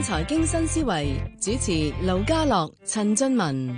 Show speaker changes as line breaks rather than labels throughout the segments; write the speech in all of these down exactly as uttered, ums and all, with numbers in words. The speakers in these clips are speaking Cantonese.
財經新思維，主持盧家樂、陳俊文。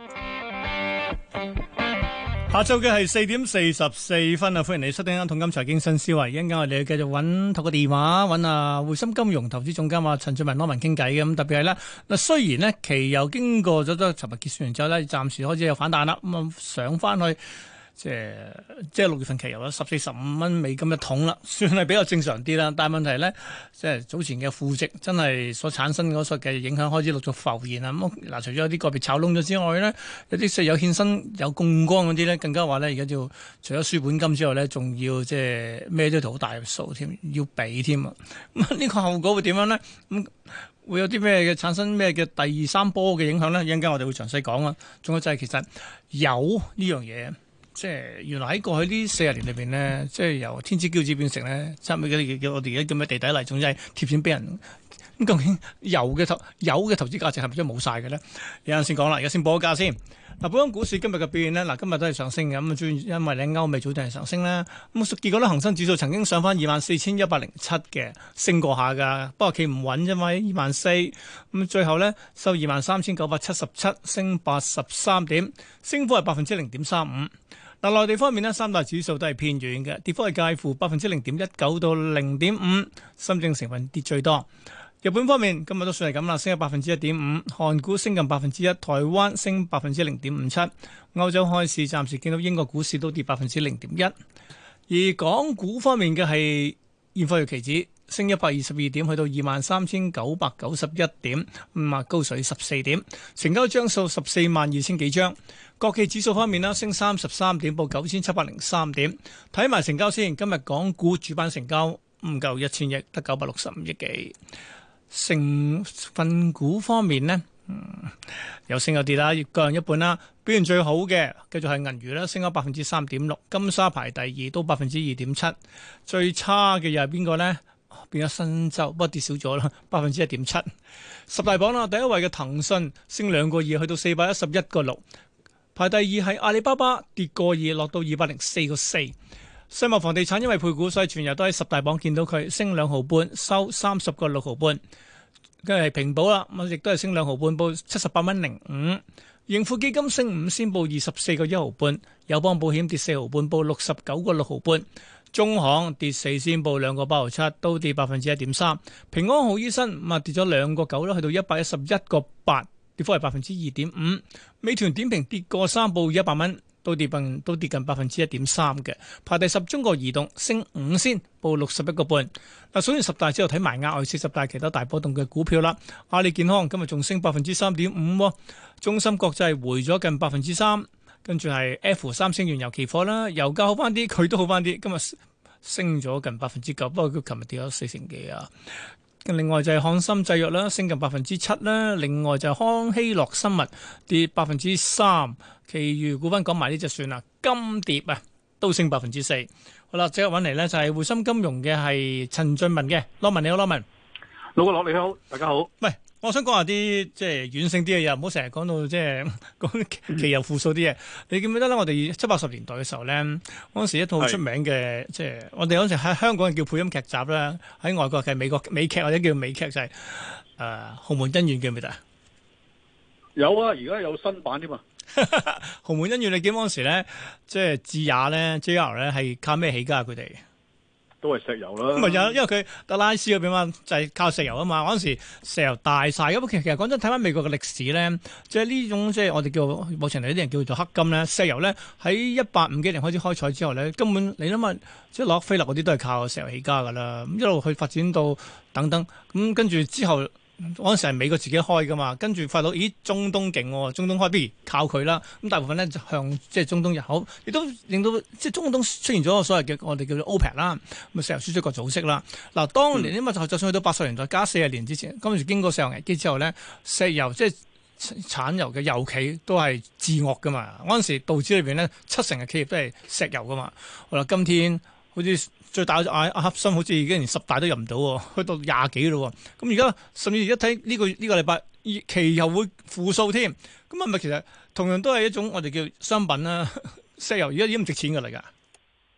下晝嘅係四點四十四分啊！歡迎你收聽《一桶金財經新思維》。一陣間我哋繼續揾透過電話揾啊匯深金融投資總監啊陳俊文攞文傾偈嘅。咁特別係咧嗱，雖然呢期油經過咗都尋日結算完之後咧，暫時開始有反彈啦，咁啊上翻去。即係即係六月份期油啦，十四十五蚊美金一桶啦，算係比較正常啲啦。但係問題咧，即係早前嘅負值真係所產生嗰個嘅影響開始陸續浮現啦。咁嗱，除咗有啲個別炒窿咗之外咧，有啲即係有獻身有槓桿嗰啲咧，更加話咧而家要除咗輸本金之外咧，仲要即係孭咗條好大嘅數添，要俾添啊。咁呢個後果會點樣咧？咁會有啲咩嘅產生咩嘅第三波嘅影響咧？一陣間我哋會詳細講啊。仲有就係其實油呢樣嘢。即係原來喺過去呢四十年裏邊咧，即係由天之驕子變成咧，差唔多嘅叫我哋而家咁嘅地底泥，總之係貼錢俾人。咁究竟油嘅投油嘅投資價值係咪真係冇晒嘅咧？有陣先講啦，而家先報個價先。嗱，本港股市今日嘅表現咧，嗱今日都係上升嘅，咁啊主要因為咧歐美早段係上升啦。咁結果咧恒生指數曾經上翻二萬四千一百零七嘅，升過下㗎，不過企唔穩啫嘛，二萬四。咁最後咧收二萬三千九百七十七，升八十三點，升幅係百分之零點三五。嗱，內地方面呢，三大指數都係偏軟嘅，跌幅係介乎百分之零點一九到零點五，深證成分跌最多。日本方面今日都算係咁啦，升咗百分之一點五，韓股升近百分之一，台灣升百分之零點五七。歐洲開市暫時見到英國股市都跌百分之零點一，而港股方面嘅係現貨月期指升一百二十二點，去到二萬三千九百九十一點，咁啊高水十四點，成交張數十四萬二千幾張。國企指數方面啦，升三十三點，報九千七百零三點。睇埋成交先，今日港股主板成交唔夠一千億，得九百六十五億幾。成分股方面呢，嗯，有升有跌啦，各人一半啦。表現最好嘅繼續係銀娛啦，升咗百分之三點六。金沙排第二，都百分之二點七。最差嘅又係邊個呢？變咗新洲，不過跌少咗啦，百分之一點七。十大榜啦，第一位嘅騰訊升兩個二，去到四百一十一個六。排第二係阿里巴巴，跌個二，落到二百零四個四。世茂房地產因為配股，所以全日都喺十大榜見到佢升兩毫半，收三十個六毫半。跟住係平保啦，咁亦都係升兩毫半，報七十八蚊零五。盈富基金升五仙，報二十四個一毫半。友邦保險跌四毫半，報六十九個六毫半。中行跌四仙，報兩個八毫七，都跌百分之一點三。平安好醫生咁啊跌咗兩個九啦，去到一百一十一個八。跌幅係百分之二點五，美團點評跌過三，報一百蚊，都跌近都跌近百分之一點三嘅。排第十，中國移動升五仙，報六十一個半。嗱，數完十大之後睇埋額外四十大其他大波動嘅股票啦。阿里健康今日仲升百分之三點五，中芯國際回咗近百分之三，跟住係 F 三星原油期貨啦，油價好翻啲，佢都好翻啲，今日升咗近百分之九，不過佢琴日跌咗四成幾啊。另外就係漢森製藥啦，升近百分之七啦。另外就係康希諾生物跌百分之三，其餘股份講埋呢隻算啦。金蝶啊都升百分之四。好啦，即刻揾嚟呢就係匯深金融嘅係陳俊文嘅，羅文你好，羅文。
老哥，你好，大家好。
喂，我想講下啲即係軟性啲嘅嘢，唔好成日講到即係講期油負數啲嘢。你記唔記得咧？我哋七八十年代嘅時候咧，嗰陣時一套好出名嘅，即係我哋嗰陣時喺香港叫配音劇集啦，喺外國嘅美國美劇或者叫美劇就係、是、誒《豪門恩怨》記唔記得啊？
有啊，而家有新版添嘛。
豪門恩怨你記唔記得嗰陣時咧，即係智雅咧 J R 咧係靠咩起家佢哋？
都係石油啦，
唔係有，因為佢德拉斯嗰邊嘛，就係靠石油啊嘛。嗰陣時石油大晒，咁其實其實講真，睇翻美國嘅歷史咧，即係呢種即係我哋叫目前嚟啲人叫做黑金咧，石油咧喺一八五幾年開始開採之後咧，根本你諗下，即係洛克菲勒嗰啲都係靠石油起家噶啦，咁一路去發展到等等，咁跟住之後。嗰陣時係美國自己開噶嘛，跟住發到咦中東勁喎，中東開不如靠佢啦。咁大部分咧就向即係中東入口，亦都令到即係中東出現咗個所謂嘅我哋叫做 OPEC 啦，咁啊石油輸出國組織啦。嗱，當年因為就就算去到八十年代加四十年之前，嗰陣時經過石油危機之後咧，石油即係產油嘅油企都係自惡噶嘛。嗰陣時道指裏邊咧七成嘅企業都係石油噶嘛。好啦，今天好似最大嘅阿阿克森好似已經連十大都入唔到喎，去到廿幾咯。咁而家甚至而家睇呢個呢、呢個禮拜期油會負數添，咁係咪其實同樣都係一種我哋叫商品啦？石油而家已經唔值錢㗎啦，而家。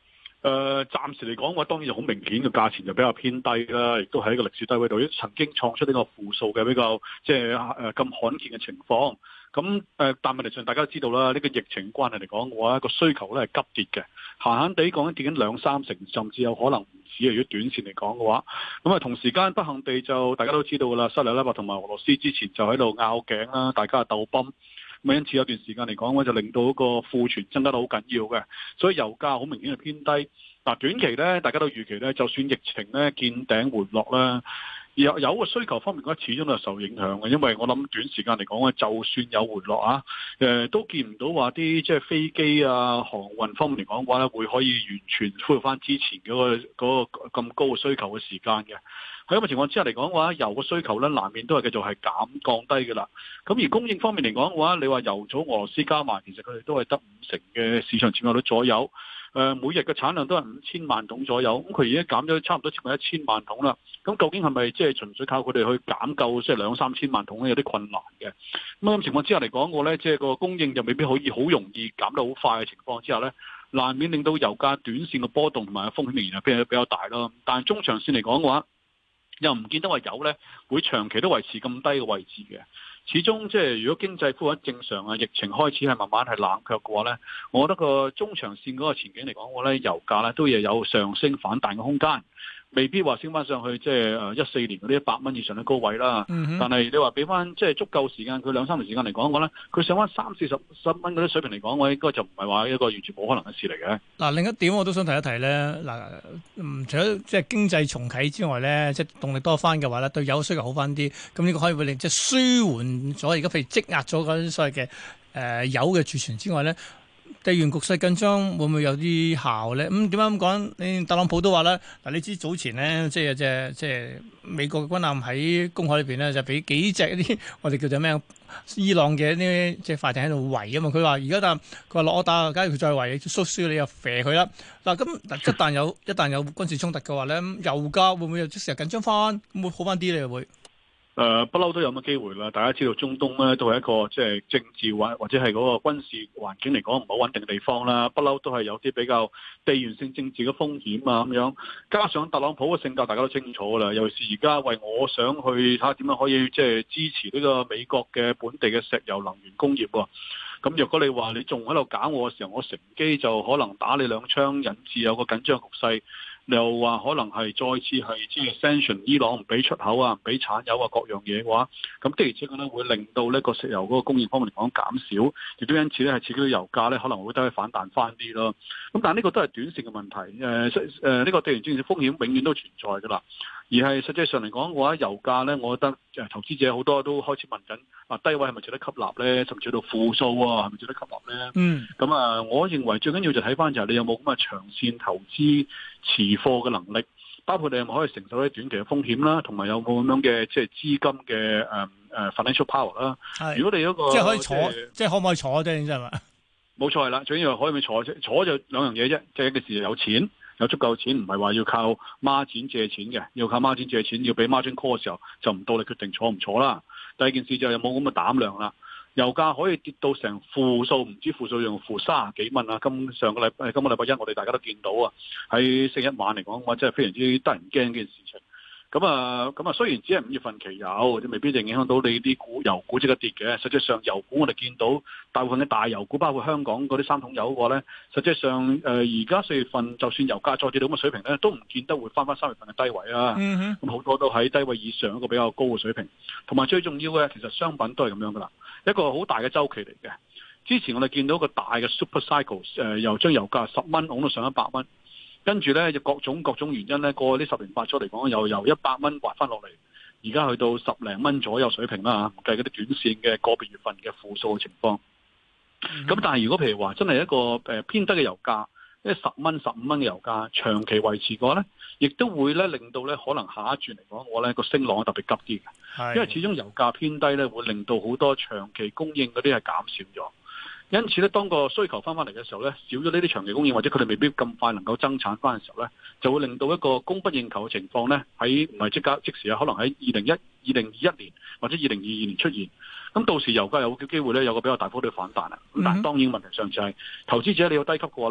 誒，暫時嚟講嘅話，當然就好明顯嘅價錢就比較偏低啦，亦都喺一個歷史低位度，曾經創出呢個負數嘅比較即係誒咁罕見嘅情況。咁誒，但問題上大家都知道啦，呢個疫情關係嚟講嘅話，個需求咧係急跌嘅，閒閒地講緊跌緊兩三成，甚至有可能唔止。如果短線嚟講嘅話，咁啊同時間不幸地就大家都知道㗎啦，沙特阿拉伯同埋俄羅斯之前就喺度拗頸啦，大家係鬥崩。咁因此有段時間嚟講咧，就令到個庫存增加得好緊要嘅，所以油價好明顯係偏低。嗱，短期咧，大家都預期咧，就算疫情咧見頂回落啦，有有個需求方面嘅話，始終都係受影響嘅。因為我諗短時間嚟講咧，就算有回落啊，誒、呃、都見唔到話啲即係飛機啊、航運方面嚟講嘅話咧，會可以完全恢復翻之前嗰、嗰個嗰、嗰個咁高嘅需求嘅時間嘅。喺咁嘅情況之下嚟講嘅話，油嘅需求咧難免都係繼續係減降低嘅啦。咁而供應方面嚟講嘅話，你話油組俄羅斯加埋，其實佢哋都係得五成嘅市場佔有率左右。誒、呃、每日嘅產量都係五千萬桶左右，咁佢而家減咗差唔多接近一千萬桶啦。咁究竟係咪即係純粹靠佢哋去減夠即係兩三千萬桶咧？有啲困難嘅。咁咁情況之下嚟講，我咧即係個供應就未必可以好容易減得好快嘅情況之下咧，難免令到油價短線嘅波動同埋風險仍然係比較比較大咯。但係中長線嚟講嘅話，又唔見得話油咧會長期都維持咁低嘅位置嘅。始終即係如果經濟恢復正常啊，疫情開始係慢慢係冷卻嘅話咧，我覺得個中長線嗰個前景嚟講，我咧油價咧都亦有上升反彈嘅空間。未必話升翻上去，即係誒一四年嗰啲一百蚊以上嘅高位啦。嗯、哼但係你話俾翻即係足夠時間，佢兩三年時間嚟講，我咧佢上翻三四十十蚊嗰啲水平嚟講，我應該就唔係話一個完全冇可能嘅事嚟嘅。
嗱，另一點我都想提一提咧。嗱，唔除咗即係經濟重啟之外咧，即係動力多翻嘅話咧，對油需求好翻啲，咁呢個可以會令即係舒緩咗而家譬如積壓咗嗰啲所謂嘅誒油嘅儲存之外咧。地緣局勢緊張會唔會有啲效咧？咁點解咁講？你特朗普都話啦，嗱，你知早前咧，即係即係即係美國嘅軍艦喺公海裏邊咧，就俾幾隻一啲我哋叫做咩伊朗嘅一啲即係快艇喺度圍啊嘛。佢話而家但佢話落打，假如佢再圍，縮輸你又射佢啦。嗱，咁一旦有一旦有軍事衝突嘅話咧，油價會唔會又即時緊張翻？會好翻啲咧？會？
誒不嬲都有乜機會啦！大家知道中東咧都係一個即係政治或或者係嗰個軍事環境嚟講唔好穩定嘅地方啦，不嬲都係有啲比較地緣性政治嘅風險啊咁樣。加上特朗普嘅性格，大家都清楚啦。尤其是而家為我想去睇下點樣可以即係支持呢個美國嘅本地嘅石油能源工業喎。咁若果你話你仲喺度搞我嘅時候，我乘機就可能打你兩槍，引致有個緊張局勢。又話可能係再次係即係 sanction 伊朗唔俾出口啊，唔俾產油啊，各樣嘢嘅話，咁的而且確咧會令到呢個石油嗰個供應方面嚟講減少，亦都因此咧係刺激到油價咧可能會得去反彈翻啲咯。咁但係呢個都係短線嘅問題，誒誒呢個地緣政治風險永遠都存在㗎啦。而係實際上嚟講嘅話，油價咧，我覺得誒投資者好多都開始問緊啊，低位係咪值得吸納咧？甚至到負數啊，係咪值得吸納咧？嗯，咁啊，我認為最緊要就睇翻就係你有冇咁嘅長線投資持貨嘅能力，包括你有冇可以承受啲短期嘅風險啦，同埋有冇咁樣嘅即係資金嘅誒誒 financial power 啦。係，如果你嗰個
即係可以坐，即係、就是、可唔可以坐啫？真係嘛？
冇錯係啦，最緊要可以唔可以坐啫？坐就兩樣嘢啫，即係一個時有錢。有足夠錢，唔係話要靠孖展借錢嘅，要靠孖展借錢，要俾 margin call 嘅時候，就唔到你決定坐唔坐啦。第二件事就係有冇咁嘅膽量啦。油價可以跌到成負數，唔知負數用負三十幾蚊啊！今上個禮拜，今個禮拜一我哋大家都見到啊，喺星期一晚嚟講，我真係非常之得人驚嘅件事情。咁啊，咁啊，雖然只係五月份期油，未必一定影響到你啲股油股即刻跌嘅。實際上油股我哋見到大部分嘅大油股，包括香港嗰啲三桶油嘅話咧，實際上誒而家四月份就算油價再跌到咁嘅水平咧，都唔見得會翻翻三月份嘅低位啊。咁好、mm hmm. 多都喺低位以上一個比較高嘅水平。同埋最重要嘅，其實商品都係咁樣噶啦，一個好大嘅周期嚟嘅。之前我哋見到個大嘅 super cycle， 誒、呃、又將油價十蚊拱到上一百蚊。跟住咧，就各種各種原因咧，過去呢十年八載嚟講，又由一百蚊滑翻落嚟，而家去到十零蚊左右水平啦嚇，唔計嗰啲短線嘅個別月份嘅負數嘅情況。咁、嗯、但係如果譬如話真係一個誒偏低嘅油價，即係十蚊、十五蚊嘅油價長期維持嘅話咧，亦都會咧令到咧可能下一轉嚟講，我咧個升浪特別急啲嘅，的因為始終油價偏低咧，會令到好多長期供應嗰啲係減少咗。因此咧，當個需求翻翻嚟嘅時候咧，少咗呢啲長期供應，或者佢哋未必咁快能夠增產翻嘅時候咧，就會令到一個供不應求嘅情況咧，喺唔係即刻即時啊，可能喺二零一二零二一年或者二零二二年出現。咁到時油價有機會咧有個比較大幅度反彈啊。咁但係當然問題上就係、是、投資者你要低級嘅話咧，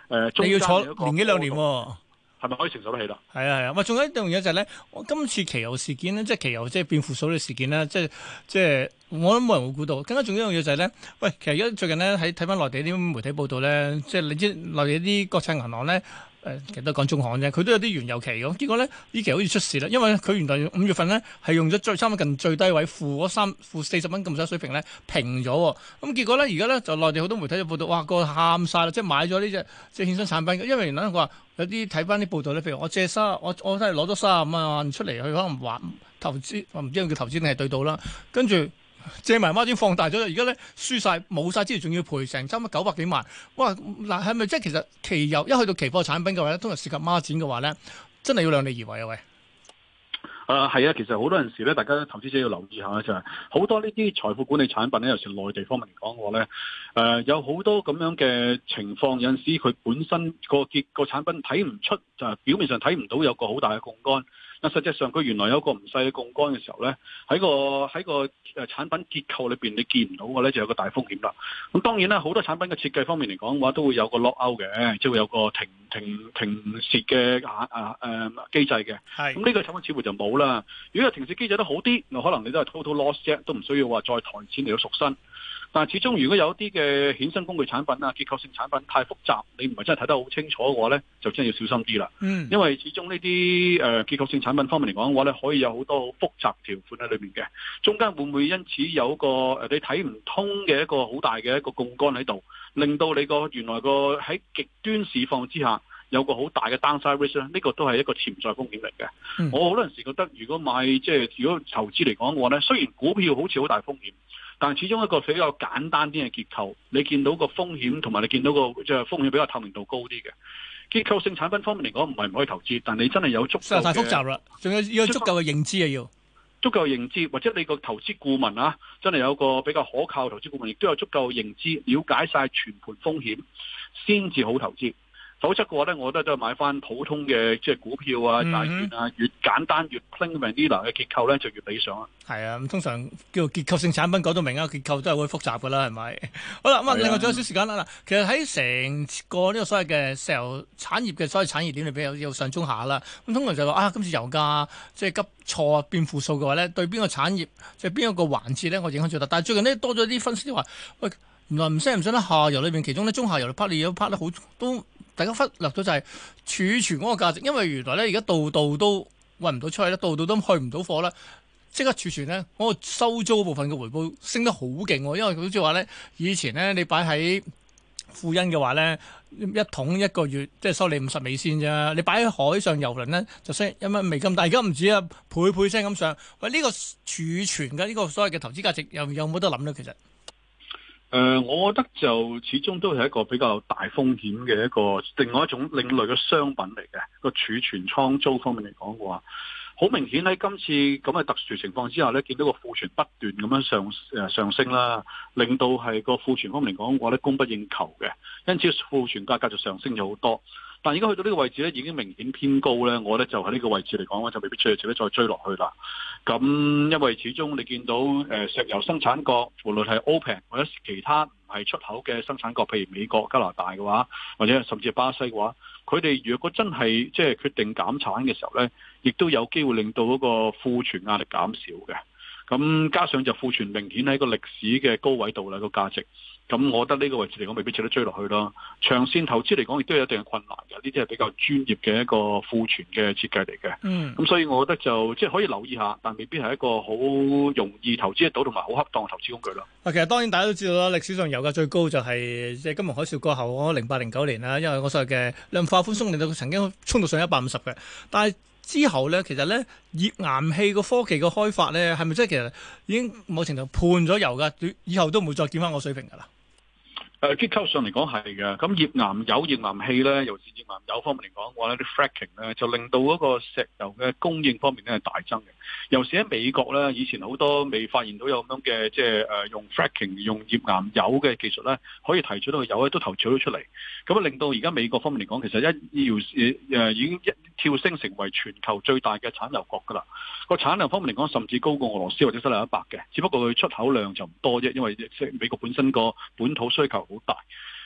呃、中
你要坐
間一個
年幾兩年喎。
係咪可以承受得起啦？
係啊係啊，喂，仲有一樣嘢就係咧，我今次期油事件咧，即係期油即係變負數嘅事件咧，即係即係我諗冇人會估到。更加重要一樣嘢就係咧，喂，其實而家最近咧喺睇翻內地啲媒體報道咧，即係你知內地啲國際銀行咧。誒，其實都講中行啫，佢都有啲原油期嘅，結果咧呢期好似出事啦，因為佢原來五月份咧係用咗最差唔多近最低位負嗰三負四十蚊咁多水平咧平咗喎，咁結果咧而家咧就內地好多媒體就報道，哇個喊晒啦，即係買咗呢隻即係衍生產品，因為原來佢話有啲睇翻啲報道咧，譬如我借三我我真係攞咗三十五萬出嚟，佢可能還投資，我唔知佢叫投資定係對賭啦，跟住。借埋孖展放大咗，而家咧輸晒冇晒之餘，仲要賠成差唔多九百幾萬。哇！嗱，係咪即係其實期油一去到期貨產品嘅話咧，通常涉及孖展嘅話咧，真係要量力而為啊！喂，
誒係啊，其實好多陣時咧，大家投資者要留意下就係、是、好多呢啲財富管理產品咧，尤其是內地方面嚟講嘅話咧，誒、呃、有好多咁樣嘅情況，有陣時佢本身個結個產品睇唔出，就係表面上睇唔到有個好大嘅槓桿。但實際上佢原來有個唔細嘅槓桿嘅時候咧，喺個喺個誒產品結構裏邊你見唔到嘅咧，就有個大風險啦。咁當然啦，好多產品嘅設計方面嚟講嘅話，都會有個 lock out 嘅，即係會有個停停停蝕嘅啊啊誒機制嘅。係咁呢個產品似乎就冇啦。如果有停蝕機制都好啲，可能你都係 total loss 啫，都唔需要話再抬錢嚟到贖身。但係始終如果有一啲嘅衍生工具產品啊、結構性產品太複雜，你唔係真係睇得好清楚嘅話咧，就真係要小心啲啦。嗯，因為始終呢啲誒結構性產品方面嚟講嘅話咧，可以有好多好複雜條款喺裏面嘅，中間會唔會因此有一個誒你睇唔通嘅一個好大嘅一個槓桿喺度，令到你個原來個喺極端市況之下有個好大嘅 downside risk 咧？呢個都係一個潛在風險嚟嘅。嗯、我好多陣時覺得，如果買即係如果投資嚟講嘅話咧，雖然股票好似好大風險。但係始終一個比較簡單啲嘅結構，你見到個風險同埋你見到個即係風險比較透明度高啲嘅結構性產品方面嚟講，唔係唔可以投資，但你真係有足夠嘅
太複雜啦，仲有要有足夠嘅認知啊，要
足夠嘅認知，或者你個投資顧問啊，真係有個比較可靠嘅投資顧問，亦都有足夠嘅認知，了解晒全盤風險，先至好投資。否則嘅話咧，我覺得都係買翻普通嘅即係股票啊、債券啊，越簡單越 plain vanilla 嘅結構咧，就越理想啊。
係啊，咁通常叫做結構性產品講到明啊，結構都係會複雜噶啦，係咪？好啦，咁啊，另外仲有少時間啦。嗱，其實喺成個呢個所謂嘅石油產業嘅所謂產業鏈裏邊有有上中下啦。咁通常就話啊，今次油價即係急挫變負數嘅話咧，對邊個產業即係邊一個環節咧，我影響最大。但係最近呢，多咗啲分析話，喂，原來唔識唔識得下游裏邊，其中咧中下游 part 你有 part 得好都。大家忽略咗就係儲存嗰個價值，因為原來咧而家度度都運唔到出去咧，度度都去唔到貨啦，即刻儲存咧，嗰個收租部分嘅回報升得好勁喎，因為佢好似話咧，以前咧你擺喺富欣嘅話咧，一桶一個月即係收你五十美仙啫，你擺喺海上郵輪咧就升一蚊美金，但係而家唔止啊，倍倍聲咁上。喂，呢個儲存嘅呢個所謂嘅投資價值又有冇得諗咧？其實？
誒、呃，我覺得就始終都係一個比較大風險嘅一個另外一種另類嘅商品嚟嘅。個儲存倉租方面嚟講嘅話，好明顯喺今次咁嘅特殊情況之下咧，見到個庫存不斷咁樣上誒上升啦，令到係個庫存方面嚟講嘅話咧，供不應求嘅，因此庫存價格就上升咗好多。但係而家去到呢個位置咧，已經明顯偏高咧，我咧就喺呢個位置嚟講咧，就未必需要自己再追落去啦。咁因為始終你見到誒石油生產國，無論係 OPEC 或者其他唔係出口嘅生產國，譬如美國、加拿大嘅話，或者甚至係巴西嘅話，佢哋如果真係即係決定減產嘅時候咧，亦都有機會令到嗰個庫存壓力減少嘅。咁加上就庫存明顯喺個歷史嘅高位度啦，個價值。咁我覺得呢個位置嚟講未必值得追落去咯。長線投資嚟講亦都有一定嘅困難嘅，呢啲係比較專業嘅一個庫存嘅設計嚟嘅。嗯，咁所以我覺得就即係可以留意下，但未必係一個好容易投資得到同埋好恰當嘅投資工具咯。
啊，其實當然大家都知道啦，歷史上油價最高就係即係金融海嘯過後嗰零八零九年啦，因為我所謂嘅量化寬鬆令到佢曾經衝到上一百五十嘅，但係之後咧，其實咧頁岩氣個科技嘅開發咧，係咪即係其實已經某程度判咗油㗎？以後都唔會再見翻我水平㗎啦。
誒結構上嚟講係嘅，咁頁岩油、頁岩氣咧，尤其是頁岩油方面嚟講嘅話咧，啲 fracking 咧就令到嗰個石油嘅供應方面咧係大增嘅。尤其喺美國咧，以前好多未發現到有咁樣嘅即係誒用 fracking 用頁岩油嘅技術咧，可以提取到個油咧都投取咗出嚟，咁啊令到而家美國方面嚟講，其實一要誒已經一跳升成為全球最大嘅產油國㗎啦。個產量方面嚟講，甚至高過俄羅斯或者西納一百嘅，只不過佢出口量就唔多啫，因為即係美國本身個本土需求好大。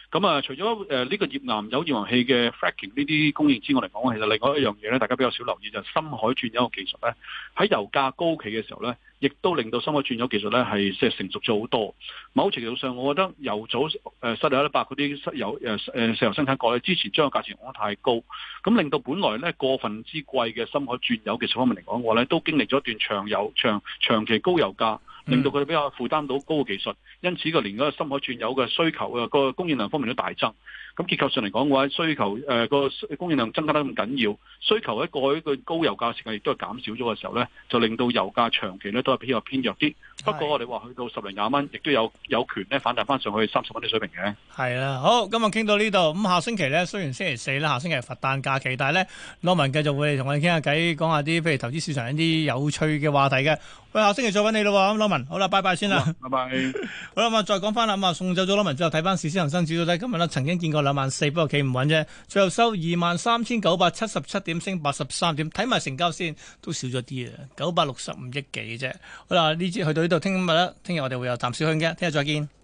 咁啊，除咗誒呢個頁岩油頁岩氣嘅 fracking 呢啲供應之外嚟講，其實另外一樣嘢咧，大家比較少留意就係深海鑽油嘅技術咧，喺油價高企嘅時候咧，亦都令到深海鑽油技術咧係即係成熟咗好多。某程度上，我覺得油組誒沙特阿拉伯嗰啲油誒誒石油生產國咧，之前將個價錢講得太高，咁令到本來咧過分之貴嘅深海鑽油技術方面嚟講嘅話咧，都經歷咗一段長油長長期高油價，令到佢哋比較負擔到高嘅技術，因此個連嗰個深海鑽油嘅需求啊個供應量方面都大增。咁結構上嚟講嘅話，需求誒個、呃、供應量增加得咁緊要，需求喺過去一個高油價時間亦都係減少咗嘅時候咧，就令到油價長期咧都係比較偏弱啲。不過我哋話去到十零廿蚊，亦都有有權咧反彈翻上去三十蚊啲水平嘅。
係啦，好，今日傾到呢度。咁下星期咧，雖然星期四啦，下星期係佛誕假期，但係咧，羅文繼續會同我哋傾下偈，講下啲譬如投資市場一啲有趣嘅話題嘅。喂，下星期再揾你咯，咁羅文，好啦，拜拜先啦，
拜拜。
好啦，咁啊，再講翻啦，咁啊，送走咗羅文之後，睇翻市，恒生指數咧，今日咧曾經見過兩萬四，不過企唔穩啫，最後收二萬三千九百七十七點，升八十三點，睇埋成交先，都少咗啲啊，九百六十五億幾啫。好啦，呢節去到呢度，聽日啦，聽日我哋會有淡少香嘅，聽日再見。